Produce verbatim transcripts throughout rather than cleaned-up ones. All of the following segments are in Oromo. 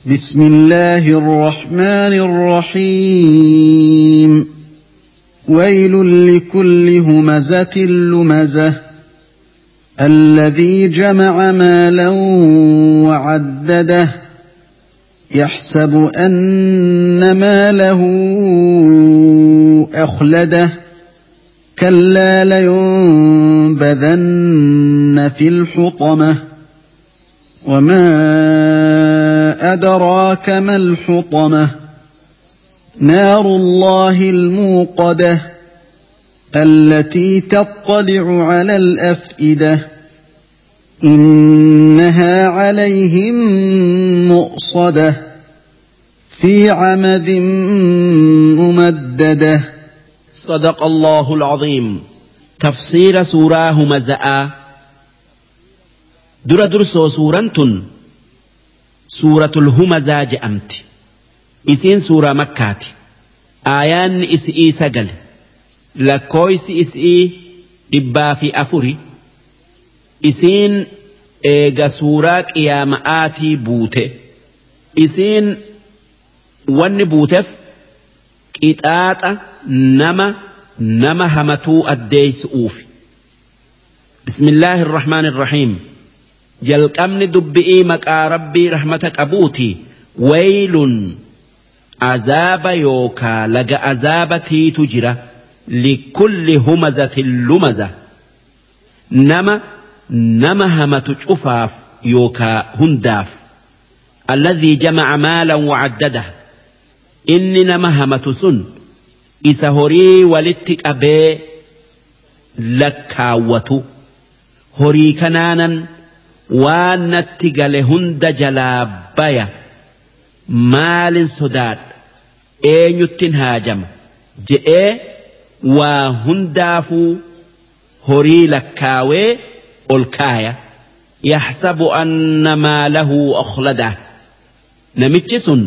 بسم الله الرحمن الرحيم ويل لكل همزة لمزة الذي جمع مالا وعدده يحسب أن ماله أخلده كلا لينبذن في الحطمة وما أدراك ما الحطمة نار الله الموقدة التي تطلع على الأفئدة إنها عليهم مؤصدة في عمد ممددة. صدق الله العظيم. تفسير سورة همزة. در درسو سورة سورة الهمزة جأمت إسين سورة مكة آيان إسئي سجل لكويس إسئي إبا في أفري إسين إيجا سورة قيامآتي بوته إسين ون بوتف إتآت نما نما همتو الديس أوفي. بسم الله الرحمن الرحيم. jalqabni dubbi'ii maqaa rabbii rahmata qabuuti. waylun azaaba yookaa laga azaabatiitu jira likulli humazatin lumaza nama nama hamatu cufaaf yookaa hundaaf alladhii jamaca maalan wacaddadah inni nama hamatu sun isa horii walitti qabee lakkaawwatu horii kanaanan waan natti gale hunda jalaa baya maalin sodaadha eenyuttin haajama je'ee waa hundaafuu horii lakkaawee ol kaaya. yaxsabu anna maalahu akhladah namichi sun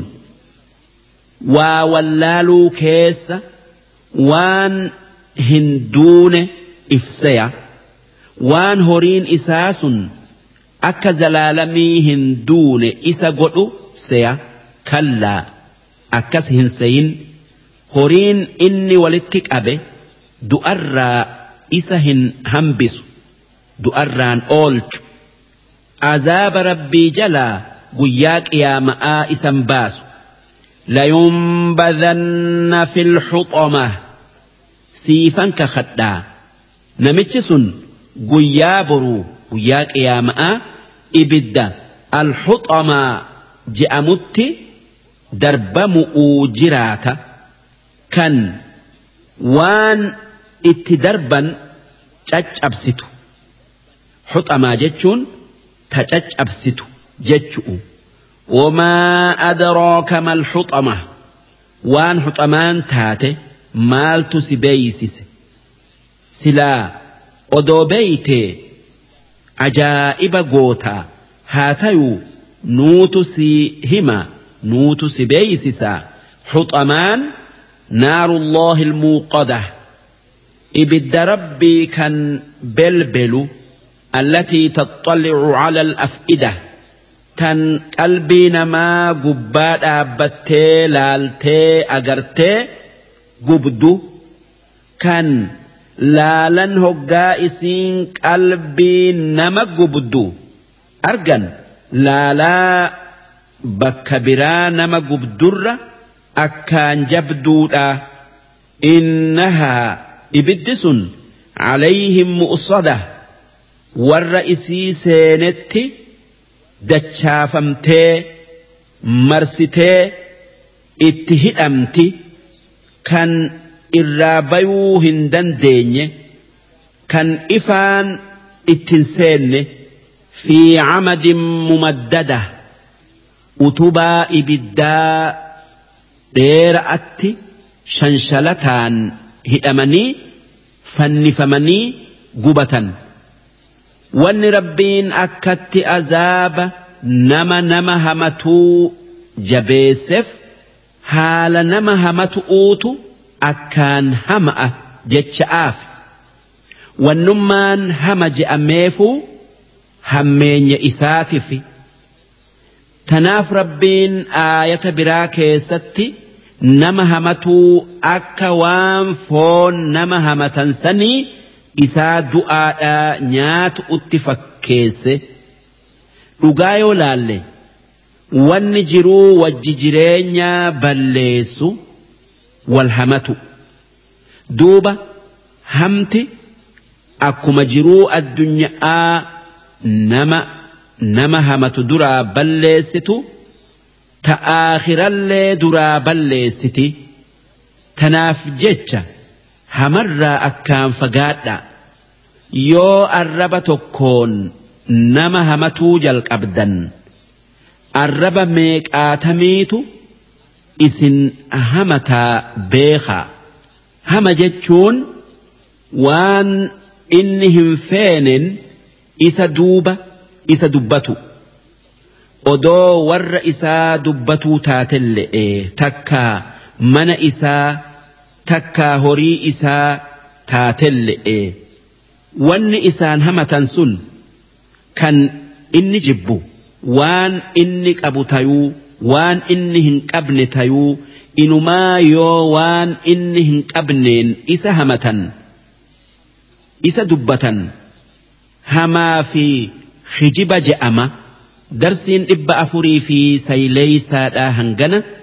waa wallaaluu keessa waan hin duune ifseya waan horiin isaa sun akka zalaalamii hin duune isa godhu seya. kallaa akkas hin seyin horiin inni walitti qabe du'arraa isa hin hambisu du'arraan oolchu azaaba rabbii jalaa guyyaa qiyaama'aa isan baasu. layunbadhanna fil huxamah siifan kakadhaa namichi sun guyyaa boruu guyyaa qiyaama'aa ibidda alhuxamaa je'amutti darbamu'uu jiraata kan waan itti darban caccabsitu. huxamaa jechuun ta caccabsitu jechu'u. wamaa adraaka mal huxamah waan huxamaan taate maaltu si beeysise silaa odoo beeytee ajaa'iba gootaa haa tayuu nuutu si hima nuutu si beeysisaa. huxamaan naarullahi almuuqadah ibidda rabbii kan belbelu allatii taxxallicu cala alaf'idah tan qalbii namaa gubbaa dhaabbattee laaltee agartee gubdu kan laalan hoggaa isiin qalbii nama gubdu argan laalaa bakka biraa nama gubdurra akkaan jabduudha. innahaa ibiddi sun calayhim mu'sadah warra isii seenetti dachaafamtee marsitee itti hidhamti kan irraa bayuu hin dandeenye kan ifaan ittin seenne fi camadin mumaddada utubaa ibiddaa dheera'atti shanshalataan hidhamanii fannifamanii gubatan. wanni rabbiin akkatti azaaba nama nama hamatuu jabeesseef haala nama hamatu uutu akkaan hama'a jecha'aaf wannummaan hama je'ameefuu hammeenya isaatifi tanaaf rabbiin aayata biraa keessatti nama hamatuu akka waan foon nama hamatan sanii isaa du'aadhaa nyaatu utti fakkeesse dhugaa yoo laalle wanni jiruu wajji jireenyaa balleessu wal hamatu duuba hamti akkuma jiruu addunyaa nama nama hamatu duraa balleessitu ta aakhirallee duraa balleessiti tanaaf jecha hamarraa akkaan fagaadha yoo arraba tokkoon nama hamatuu jalqabdan arraba meeqaatamiitu isin hamataa beekaa hama jechuun waan inni hin feenen isa duuba isa dubbatu odoo warra isaa dubbatuu taatelle'e takkaa mana isaa takkaa horii isaa taatelle'e wanni isaan hamatan sun kan inni jibbu waan inni qabu tayuu waan inni hin qabne tayuu inumaa yoo waan inni hin qabneen isa hamatan isa dubbatan hamaa fi hijiba je'ama darsiin dhibba afurii fi sayleeysaadhaa hangana